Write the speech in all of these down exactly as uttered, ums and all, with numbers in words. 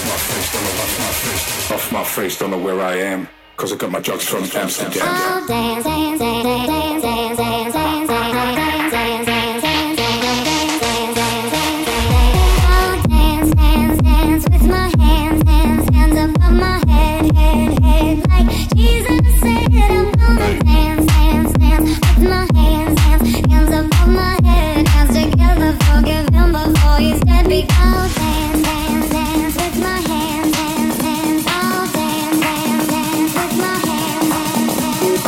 Off my face, don't know where I am, cause I got my drugs from Amsterdam. I'll dance, dance, dance, dance, dance, dance, dance, dance, dance, dance, dance, dance, dance, dance, dance. I'll dance, dance, dance with my hands, hands, hands above my head, head, head. Like Jesus said, I'm gonna dance, dance, dance with my hands, hands, hands above my head. Hands together, forgive him before he's dead. I'll dance, dance, dance with my hands, hands, hands. I'll dance, dance, dance with my hands, hands,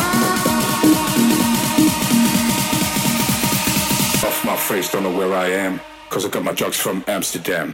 hands. Off my face, don't know where I am, cause I got my drugs from Amsterdam.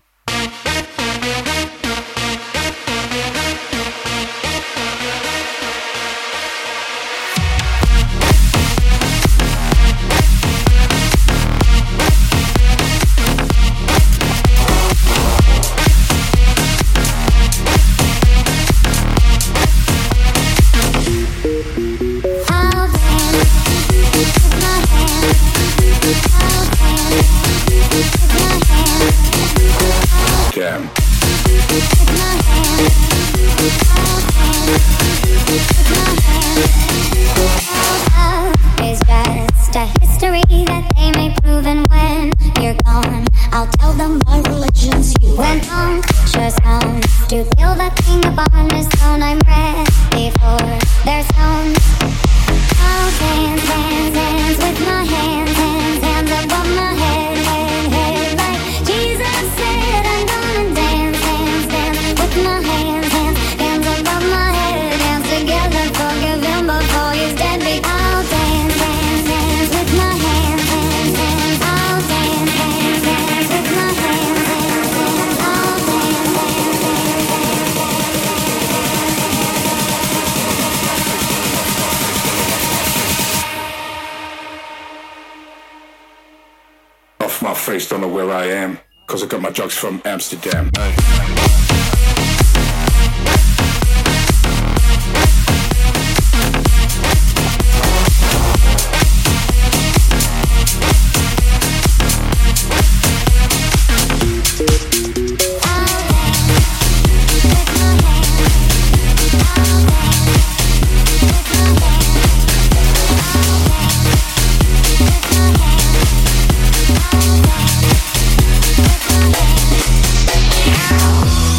Damn. It's just a history that they may prove, and when you're gone, I'll tell them my religion's you. When punctures come to kill the king upon his throne, I'm ready for their stones. I'll dance, dance, dance with my hands, hands, hands above my head, head, head. Like Jesus said, I'm gonna dance, dance, dance with my hands, hands, hands above my head. Hands together, forgive him before he's dead. I'll dance, dance, dance with my hands, hands, hands. I'll dance, dance, dance with my hands, hands, hands. I'll dance, dance, dance, dance. Off my face, don't know where I am, cause I got my drugs from Amsterdam. Ow.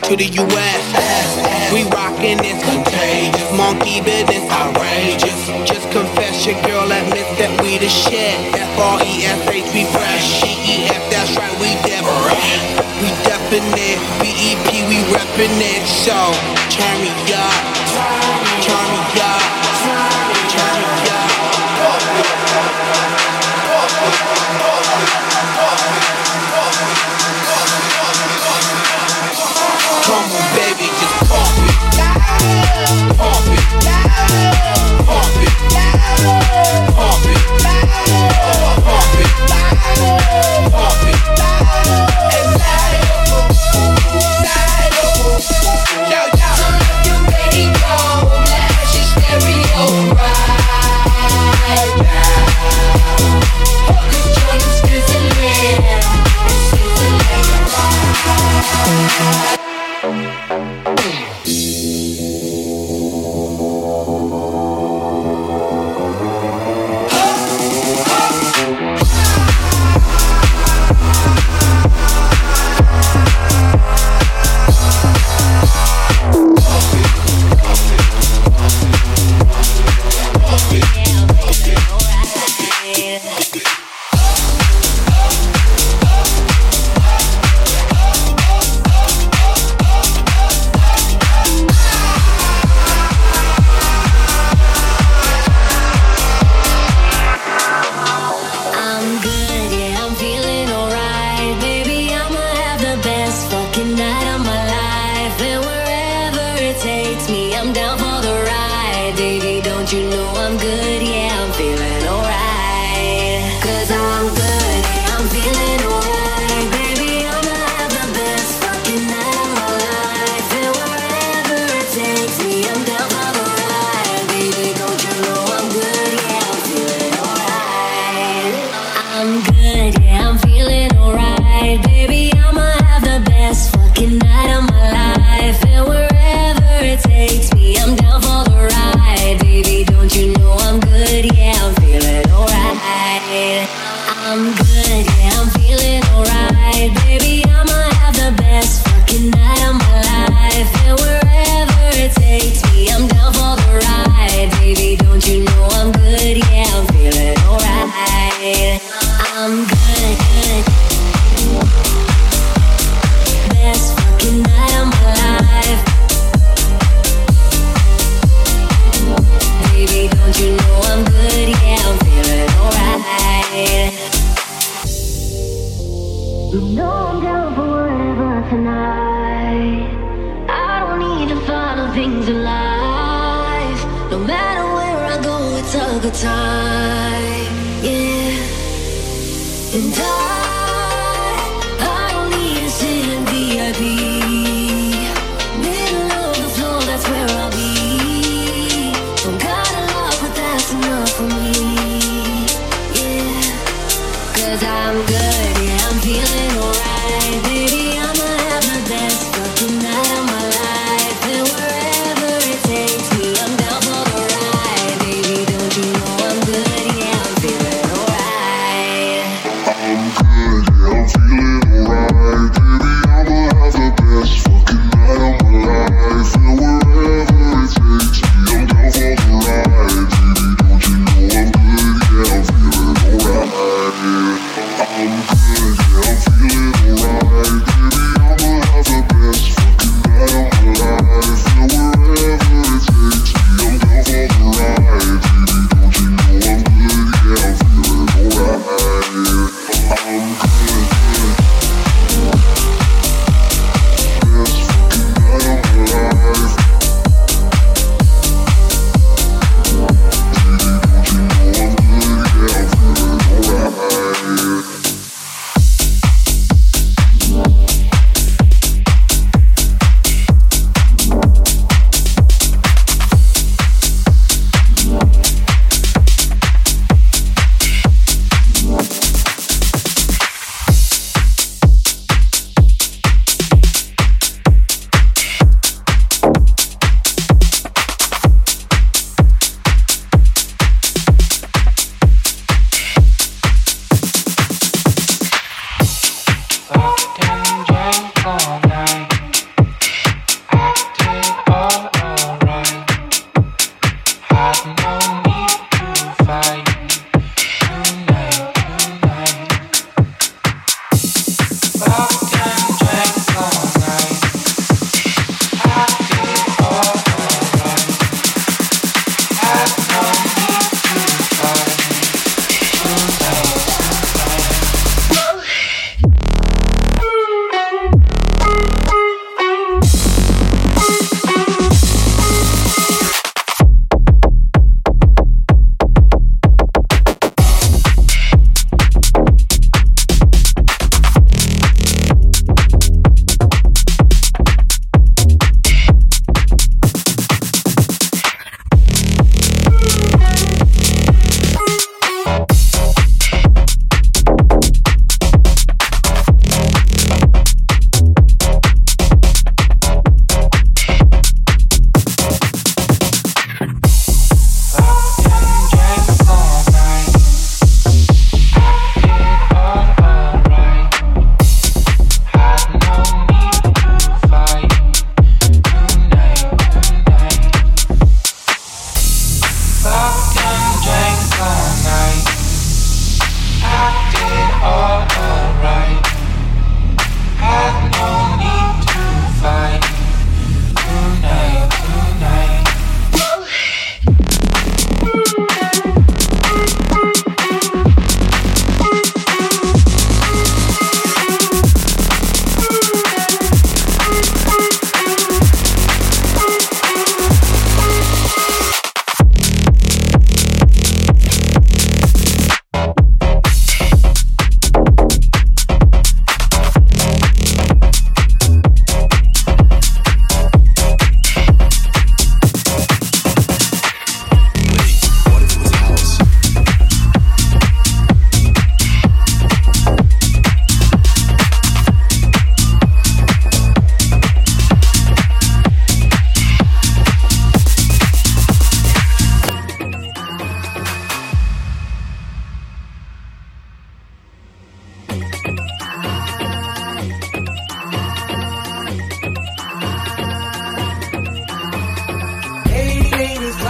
to the U S We rockin' this contagious, monkey business outrageous. Just confess your girl admits that we the shit. F R E S H, we fresh. G E F, that's right, we different. We definite, B E P, we reppin' it. So, turn me up, turn me up, turn me up. Come on, baby, just pump it, pump it, pump it, pump it, pump it, pump it, and light it up, light it up. Yo, yo. Turn up your radio, blast your stereo right now. Cause joy is sizzling, sizzling.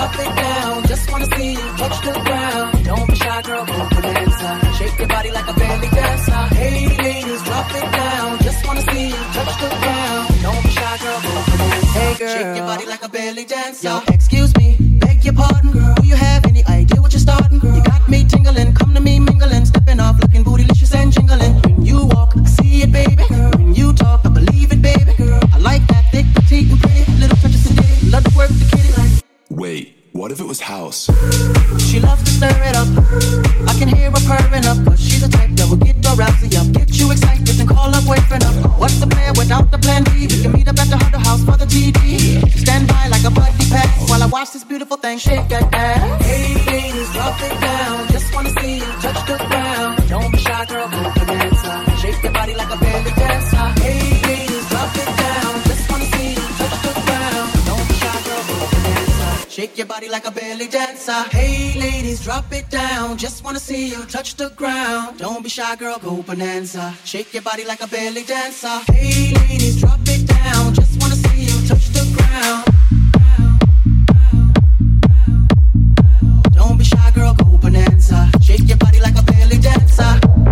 drop it down. Just wanna see you touch the ground. Don't be shy, girl, go bonanza. Shake your body like a belly dancer. Hey, ladies, drop it down. Just wanna see you touch the ground. Don't be shy, girl, go bonanza. Hey, girl, shake your body like a belly dancer. Yo, excuse me, beg your pardon, girl. Do you have any idea what you're starting, girl? You got me tingling, come to me mingling, stepping off, looking bootylicious and jingling. When you walk, I see it, baby. Girl. When you talk, I believe it, baby. Girl. I like that thick, petite, and pretty. Little touches of ditty, love to work the kitty like. Wait, what if it was house? She loves to stir it up. I can hear her purring up, cause she's the type that will get the rousey up. Get you excited and call up boyfriend up. What's the plan without the plan B? We can meet up at the Hunter House for the T D. Stand by like a buddy pack while I watch this beautiful thing shake that ass. Hey ladies, drop it down. Just wanna see you touch the ground. Don't be shy, girl, go bonanza. Shake your body like a belly dancer. Hey ladies, drop it down. Just wanna see you touch the ground. Don't be shy, girl, go bonanza. Shake your body like a belly dancer. Hey ladies, drop it down. Just wanna see you touch the ground. Don't be shy, girl, go bonanza. Shake your body like a belly dancer. Hey ladies, drop it down. Just wanna see you touch the ground. Don't be shy, girl, go bonanza. Shake your body like a belly dancer.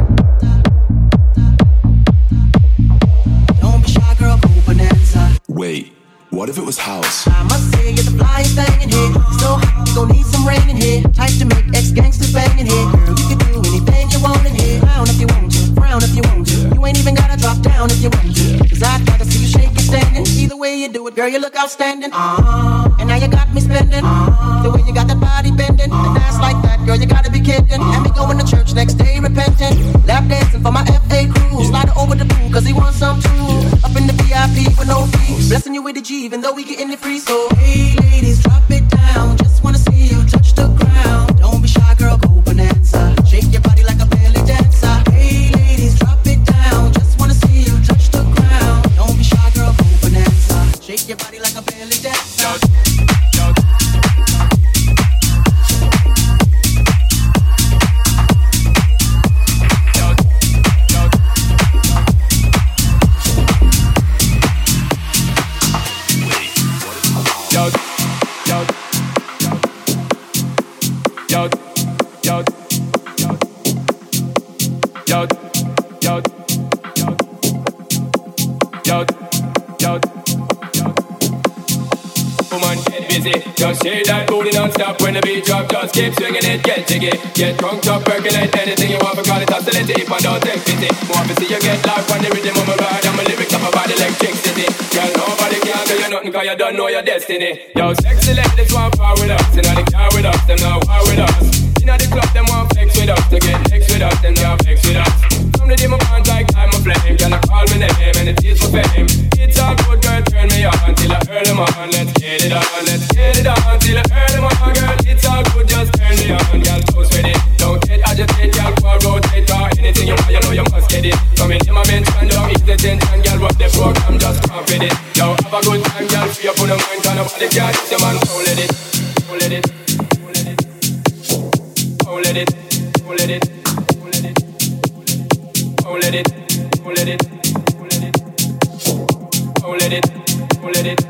Don't be shy, girl, go bonanza. Wait, what if it was house? I must say you're the flyest thing in here. So hot, you gon' need some rain in here. Type to make ex-gangsters bang in here. Girl, you can do anything you want in here. Frown if you want to, frown if you want to. You ain't even gotta drop down if you want to. Cause I'd rather see you shake it standing. Either way you do it, girl, you look outstanding. Uh-huh. And now you got me spending. Uh-huh. The way you got that body bending. And dance like that, girl, you gotta be kidding. And me going to church next day repenting. Lap dancing for my F A crew. Slide her over the pool cause he wants some too. Up in the V I P with no fee. Blessing you with a G even though we getting it free. So hey ladies, drop it down. Just wanna see you touch the ground. Don't be shy, girl, go bonanza. Shake your body like a belly dancer. Hey ladies, drop it down. Just wanna see you touch the ground. Don't be shy, girl, go bonanza. Shake your body like a belly dancer. Just shake that booty non-stop when the beat drop. Just keep swinging it, get jiggy. Get drunk, up, percolate anything you want. Because it's oscillating if I don't take pity. Want to see you get live on the rhythm of my ride. And my lyrics up about electricity. Girl, nobody can do you nothing cause you don't know your destiny. Yo, sexy ladies want power with us. Inna the car with us, them not war with us. Inna the club, them want flex with us. To get next with us, them not flex with us. From the day my bond like I'm a flame. Girl, I call me name and it is for fame. It's all good, girl, turn me on till I earn them on. Let's get it on, let's get it on till I earn them on, girl. It's all good, just turn me on, girl. Toast with it, don't get agitated, girl. Go and rotate or anything you want, you know you must get it. Come in, in my bench and don't ease the tension, girl. Rock the program, just come with it. Yo, have a good time, girl. Free up on the mind, cause nobody can hit your man. Oh, let it, oh, let it, oh, let it, oh, let it, oh, let it, oh, let it, oh, let it, oh, let it, oh, let it, oh, let it, oh, let it.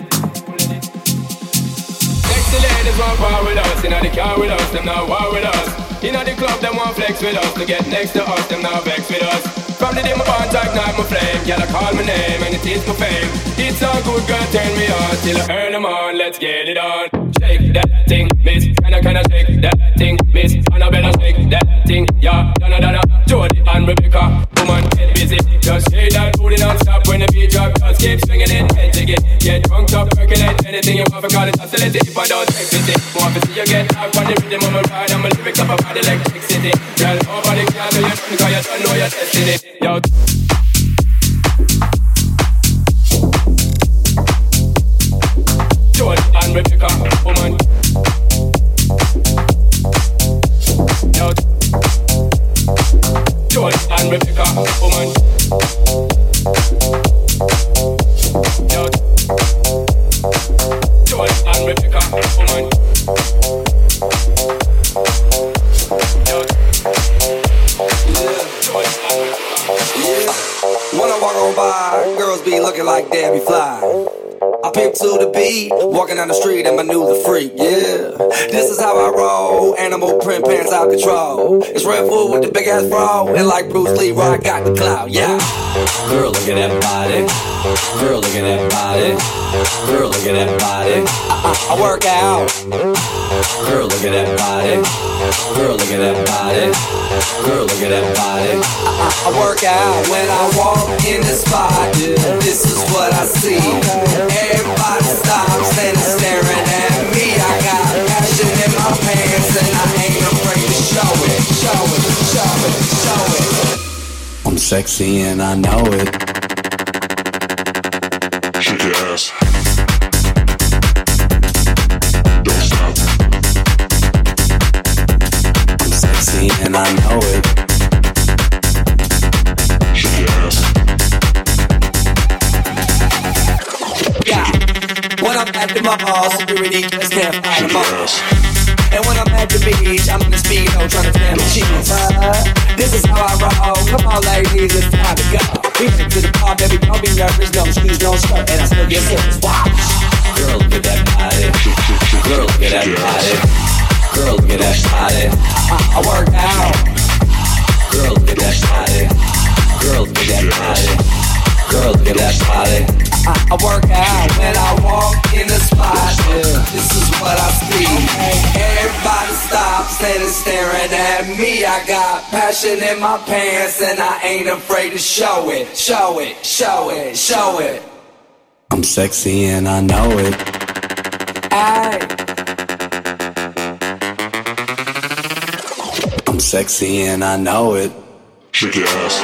Sexy ladies want power with us, inna the car with us, them not war with us. Inna the club, them want flex with us, to get next to us, them not vex with us. From the day my bond ignite my flame, girl, I call my name and it is my fame. It's all good, girl, turn me on till I earn them on. Let's get it on. Shake that thing, miss. Can I, can I shake that thing, miss? Annabella, shake that thing, yeah. Donna, Donna, Jody and Rebecca. Woman, get busy. Just shake that booty non-stop when the beat drop. Just keep swinging it, get jiggy. Get drunk, up, percolate anything you want for call it oscillating. If I don't take pity, want to see you get up on the rhythm of my ride. I'm a lyrics up about electricity. Girl, nobody can do you nothing cause you don't know your destiny. Yo. Joel and Rebecca, woman. Yo. Joel and Rebecca, woman. Yo. Joel and Rebecca, woman. Yo. When I walk on by, girls be looking like Debbie Fly. I pimp to the beat, walking down the street and my new the freak, yeah. This is how I roll, animal print pants out control. It's Red Food with the big ass bra, and like Bruce Lee, I got the clout, yeah. Girl, look at that body. Girl, look at that body. Girl, look at that body. I, I, I work out. Girl, look at that body. Girl, look at that body. Girl, look at that body. I, I, I work out when I walk in the spot. This is what I see. Everybody stops and is staring at me. I got passion in my pants and I ain't afraid to show it, show it, show it, show it. I'm sexy and I know it. Shake your ass. Don't stop. I'm sexy and I know it. Shake your ass. Yeah. When I'm at the mall, security just can't find them all. And when I'm at the beach, I'm in the speedo trying to damn the cheese. Uh, this is how I roll. Come on, ladies, it's time to go. We went to the bar, baby, don't be nervous. No shoes, no skirt, and I still get serious. Wow. Girl, look at that body. Girl, look at that body. Girl, look at that body. I, I work out. Girl, look at that body. Girl, look at that body. Girl, look at that body. I, I work out when I walk in the spot. Yeah. This is what I see. Everybody stops and is staring at me. I got passion in my pants and I ain't afraid to show it. Show it, show it, show it. I'm sexy and I know it. Aye. I'm sexy and I know it. Shake your ass.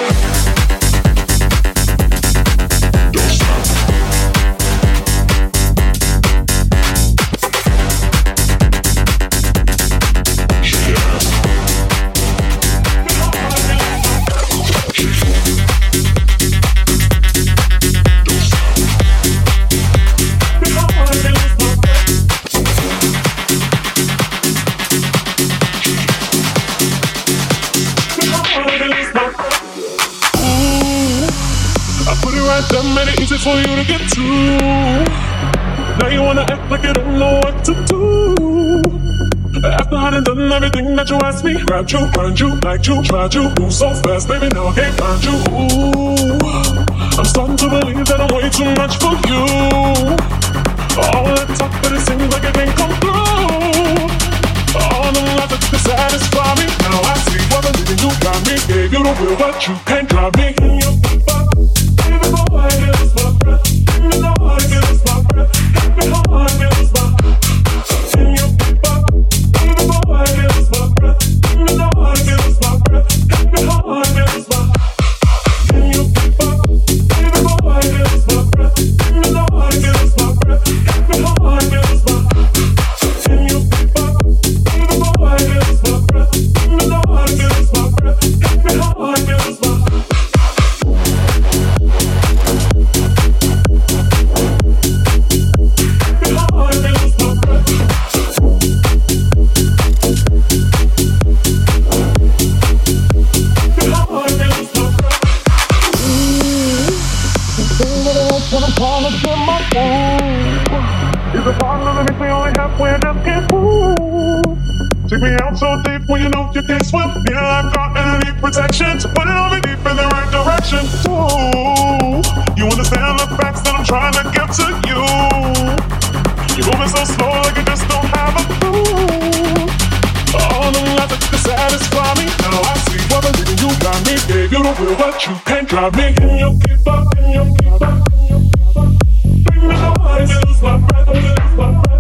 That made it easy for you to get to. Now you wanna act like you don't know what to do. After I done done everything that you asked me, grabbed you, burned you, liked you, tried you, move so fast, baby, now I can't find you. Ooh, I'm starting to believe that I'm way too much for you. All that talk, but it seems like it can't come through. All the lies that you can satisfy me. Now I see what the living you got me. Gave you the will, but you can't drive me. In your paper. Give me my heart, give us my breath. Give me my heart, give us my breath. Give me my heart, give us my breath. In your paper. Give me my heart, give us my breath. Give me my heart, give us my breath. Give me my heart, give us my breath. In your paper. Give me my heart, give us my breath. Give me my heart, give us my breath. Give me my heart, give us my breath. In your paper. Give me my heart, give us my breath. Give me my heart, give us my breath. Give me my heart, give us my breath. Take me out so deep when you know you can't swim. Need a lifeguard and I need protection. So put it on me deep in the right direction. Ooh, you understand the facts that I'm trying to get to you. You're moving so slow like you just don't have a clue. All the lies that you can satisfy me. Now I see what the reason you got me. Gave you the will, but you can't drive me. In your keeper, in your keeper. Bring me the heart, lose my breath, lose my breath.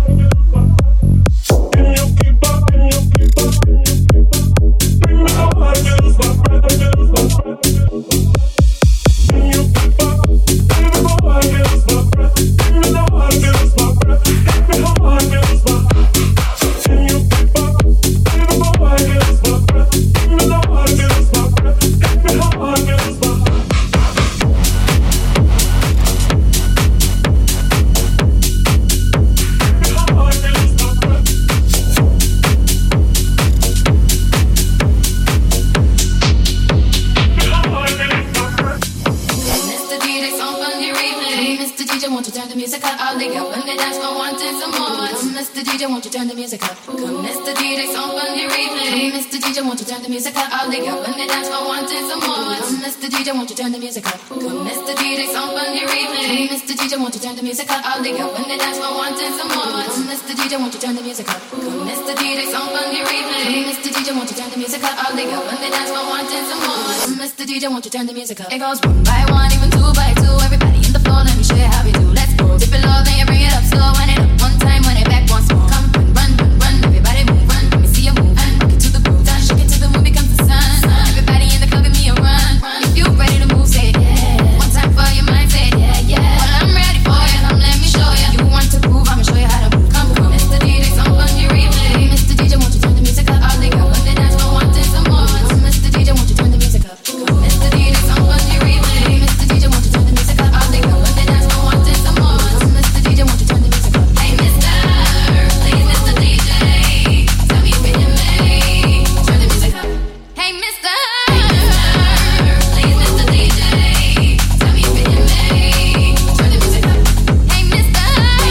the music up? I'll leave you on the dance floor wanting some more. Come, Mister D J, won't you turn the music up? Come, Mister D J, song on the replay. Come, Mister D J, won't you turn the music up? I'll leave you on the dance floor wanting some more. Come, Mister D J, won't you turn the music up? Come, Mister D J, song on the replay. Come, Mister D J, won't you turn the music up? I'll leave you on the dance floor wanting some more. Come, Mister D J, won't you turn the music up? Come, Mister D J, song on the replay. Come, Mister D J, won't you turn the music up? I'll leave you on the dance floor wanting some more. Come, Mister D J, won't you turn the music up? It goes one by one, even two by two. Everybody in the floor, let me show you how we do. Let's go. Dip it low, then you bring it up slow. Wind it up one time, wind it back once more. Come, run, run, run, everybody move, run. Let me see you move, and rock it to the groove. Done, shake it till the moon becomes the sun. Everybody in the club, give me a run. If you ready to move, say it, yeah. One time for your mind, say it, yeah, yeah. Well, I'm ready for you, come let me show you. You want to groove, I'ma show you how to move. Come, come, Mister D J, song on your replay. Mister D J, won't you turn the music up? I'll lay up on the dance floor, wanting some more. Mister D J, won't you turn the music up? Mister D J, song on your replay. Mister D J, won't you turn the music up? I'll lay up on the dance floor, wanting some more. Mister D J, won't you turn the music up? Hey, Mister, please, Mister D J, tell me if it in me. Turn the music up. Hey, Mister, please, Mister D J, tell me if it in me. Turn the music up. Hey, Mister,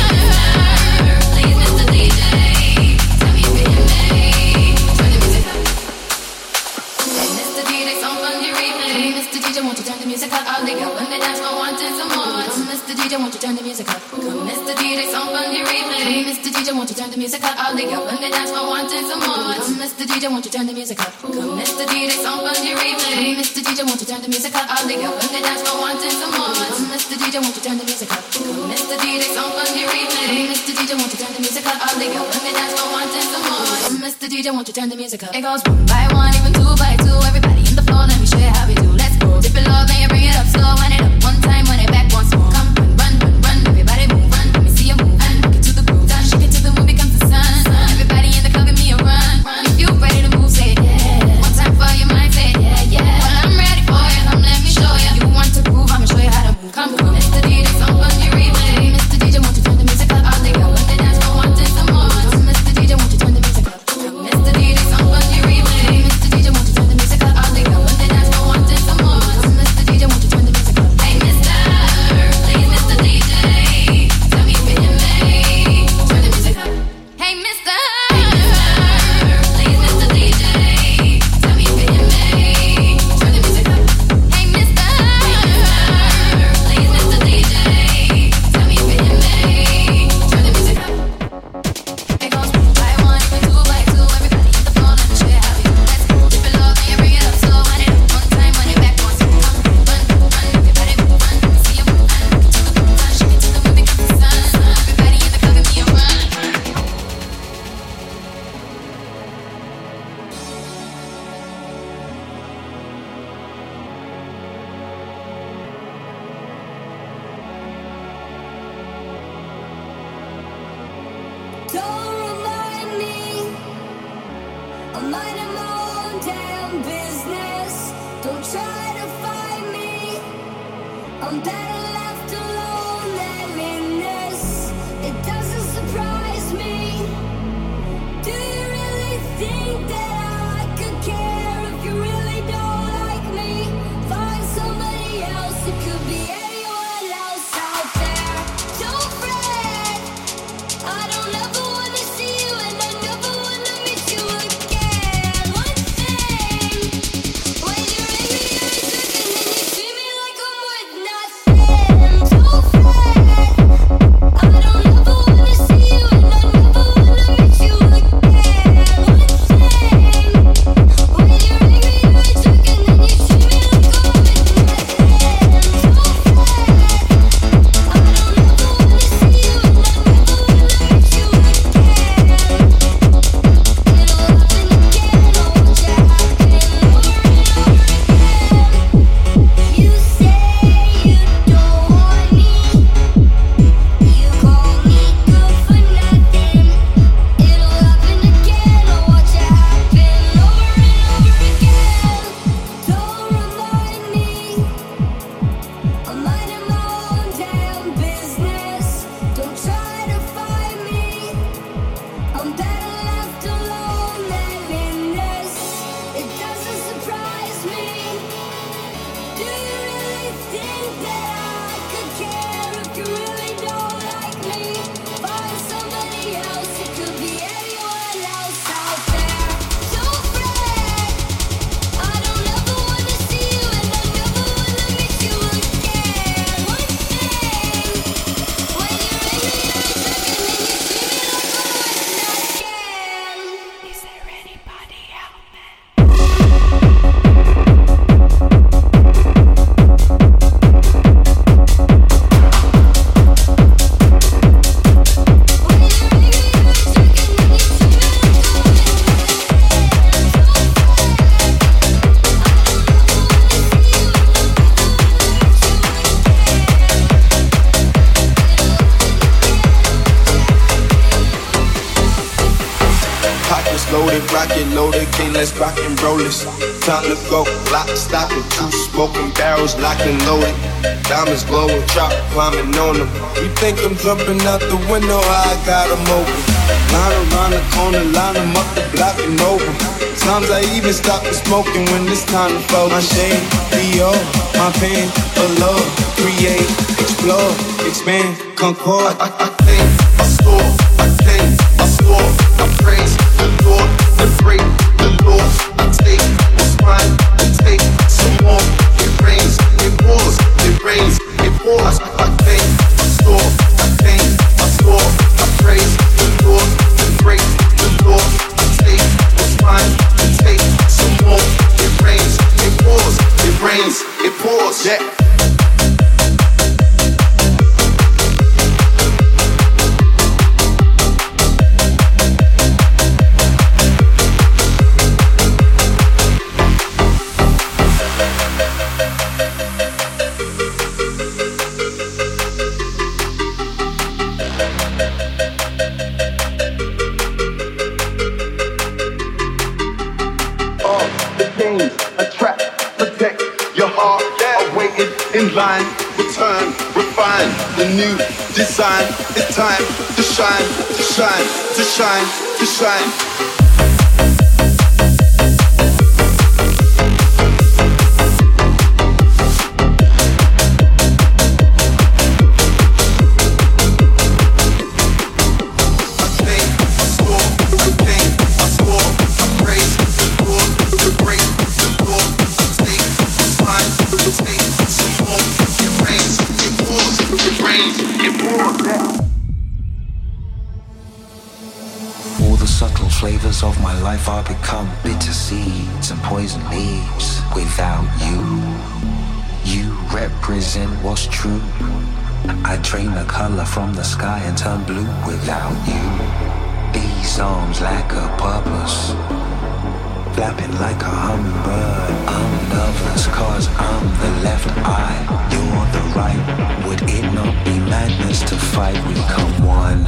please, Mister D J, tell me if it in me. Turn the music up. Hey, Mister D J, song on your replay. Mister D J, won't you turn the music up? I'll lay up on the dance floor, wanting some more. Mister D J, won't you turn the music up? Come, Mister D J, song on your replay. Mister D J, won't you turn the music up? I'll lay up on the dance floor, wanting some more. Mister D J, won't you turn the music up? Come, Mister D J, song on your replay. Mister D J, won't you turn the music up? I'll lay up on the dance floor, wanting some more. Mister D J, won't you turn the music up? Come, Mister D J, song on your replay. Mister D J, won't you turn the music up? I'll lay up on the dance floor, wanting some more. Mister D J, won't you turn the music up? It goes one by one, even two by two. Everybody in the floor, let me show you how we do. Let's go. Dip it low, then you bring it up slow. Wind it up one time, wind it back once more. Come, run, run, run, everybody move, run. Let me see you move, and rock it to the groove. Done, shake it till the moon becomes the sun. Everybody in the club, give me a run. If you ready to move, say it, yeah. One time for your mind, say it, yeah, yeah. Well, I'm ready for you, come let me show you. You want to groove, I'ma show you how to move. Come, come, Mister D J, song on your replay. Mister D J, won't you turn the music up? I'll lay up on the dance floor, wanting some more. Mister D J, won't you turn the music up? Mister D J, song on your replay. Mister D J, won't you turn the music up? I'll lay up on the dance floor, wanting some more. Mister D J, won't you turn the music up? Hey, Mister, please, Mister D J, tell me if it in me. Turn the music up. Hey, Mister, please, Mister D J, tell me if it in me. Turn the music up. Hey, Mister, please, Mister D J, tell me if it in me. Turn the music up. It goes one by one, even two by two. Everybody in the floor, let me show you how we do. Let's go. Dip it low, then you bring it up slow. Wind it up one time, wind it back once more. Come, run, run, everybody move, run. Let me see you move, and rock it to the groove. Done, shake it till the moon becomes the sun. Everybody in the club, give me a run. Don't remind me, I'm minding my own damn business. Don't try to find me, I'm better left alone than in this. It doesn't surprise me. Do you really think that I could care if you really don't like me? Find somebody else, it could be anyone else out there. Don't fret, I don't ever wanna see you and I never wanna miss you again. One thing, when you ring me every second and you treat me like I'm worth nothing. Don't fret, I don't ever wanna see you and I never wanna miss you again. One thing, when you ring me every second and you treat me like I'm worth nothing. Don't fret. rocket loaded, okay, let's rock and roll this. Time to go, lock, stock, and two smoking barrels locked and loaded. Diamonds glowing, chop climbing on them. You think I'm jumping out the window? I got them open. Line around the corner, line them up the block and over. Times I even stop the smoking when it's time to fold. My shade, Dior, my pain, for love, create, explore, expand, concord. I, I, I think, I store, I think, I store, I praise the Lord, the break, the Lord, I take what's mine, I take some more. It rains, it pours, it rains, it pours. I, I think, I store, I think, I store, I praise the Lord, the break, the Lord, I take what's mine, I take some more. It rains, it pours, it rains, it pours. Yeah. In line, return, refine the new design. It's time to shine, to shine, to shine, to shine. Flavors of my life are become bitter seeds and poison leaves. Without you, you represent what's true. I drain the color from the sky and turn blue. Without you, these arms lack a purpose. Flapping like a hummingbird, I'm nervous cause I'm the left eye, you're the right. Would it not be madness to fight? We come one.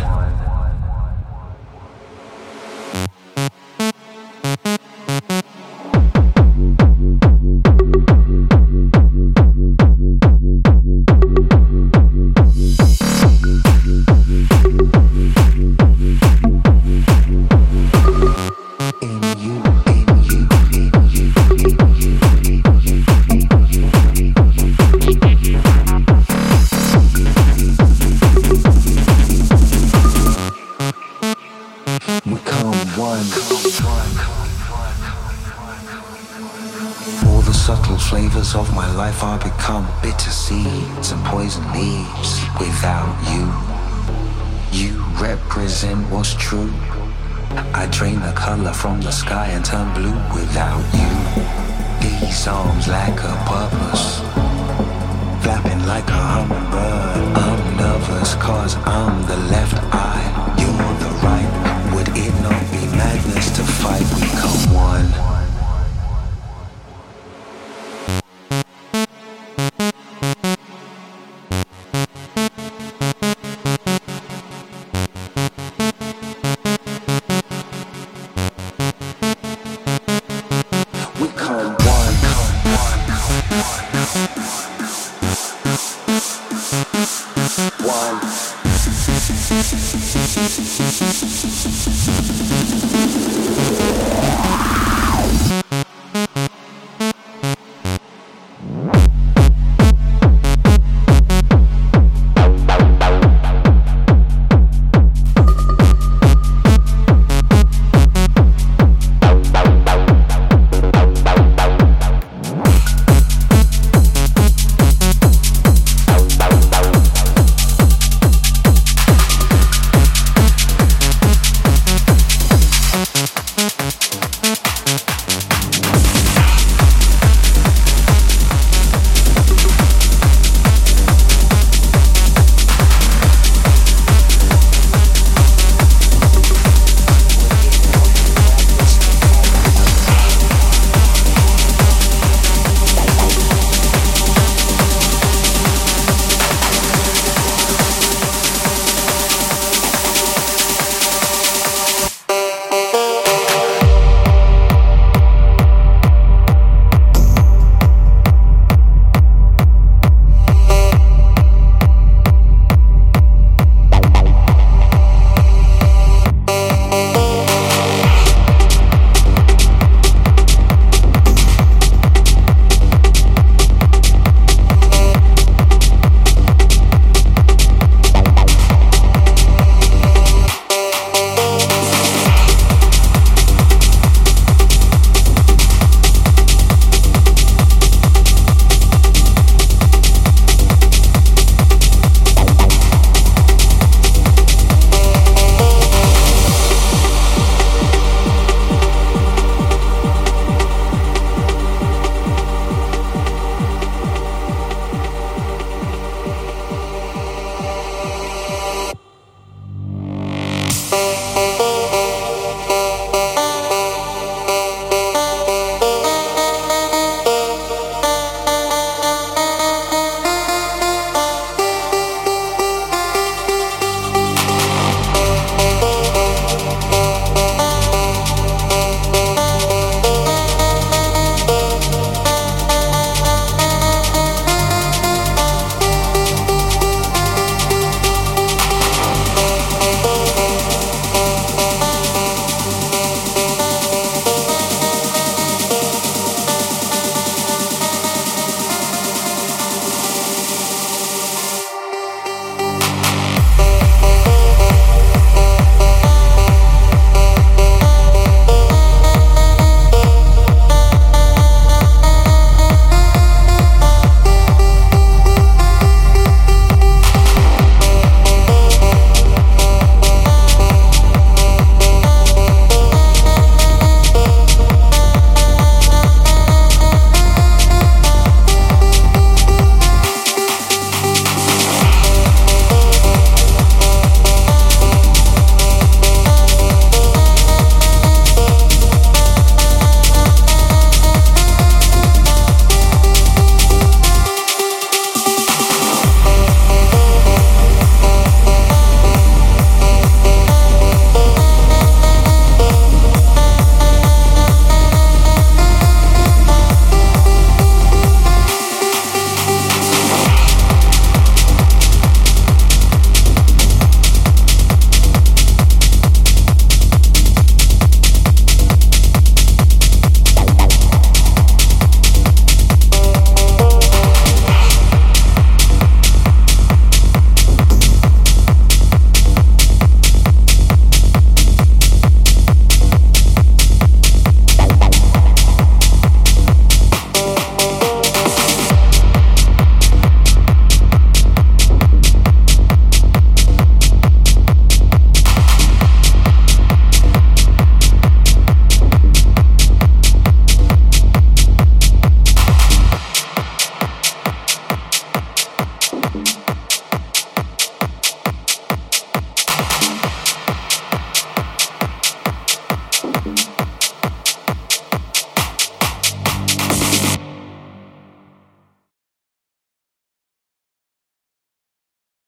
Of my life are become bitter seeds and poison leaves. Without you, you represent what's true. I drain the color from the sky and turn blue. Without you, these arms lack a purpose. Flapping like a hummingbird, I'm nervous cause I'm the left eye, you're the right. Would it not be madness to fight? We come one.